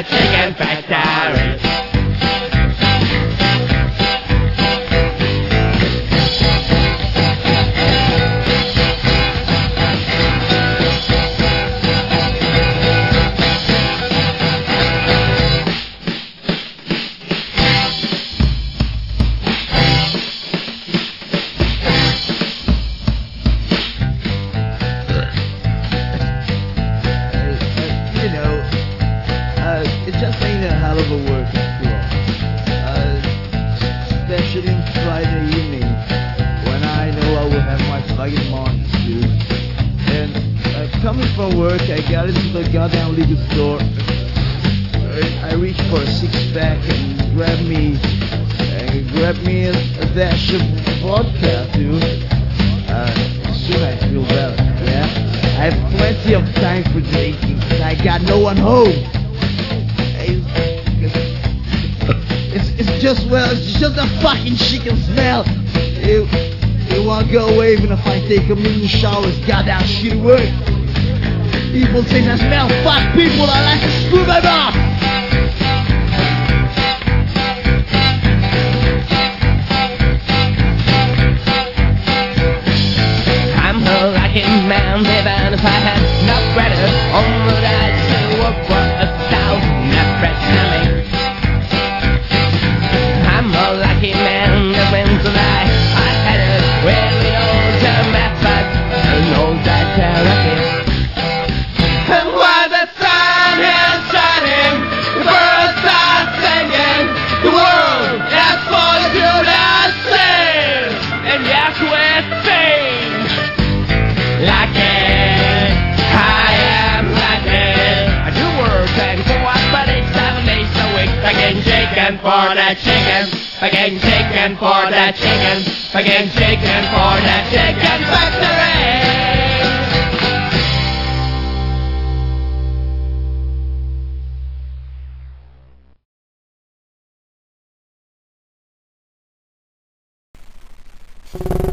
the chicken factory. It just ain't a hell of a work after all. Especially Friday evening when I know I will have my fucking morning too. And coming from work, I got into the goddamn liquor store. I reached for a six-pack and grabbed me a dash of vodka too. Soon I feel better. Yeah, I have plenty of time for drinking. I got no one home. It's just a fucking chicken smell. It won't go away even if I take a million showers. Goddamn shitty work. People say I smell. Fuck people. I like to screw them off. I'm a lucky man, even if I had no credit on what I'd say work for 1,000 fresh coming. I'm a lucky man that wins the night. I had it really knows the method and knows that they're lucky. And while the sun is shining, the birds are singing, the world is for you to sing. And yes, we're sing. Lucky, I am lucky. I do work and co-op, but it's 7 days a week. Again, chicken for the chicken. Again, chicken for the chicken. Again, chicken for the chicken factory. You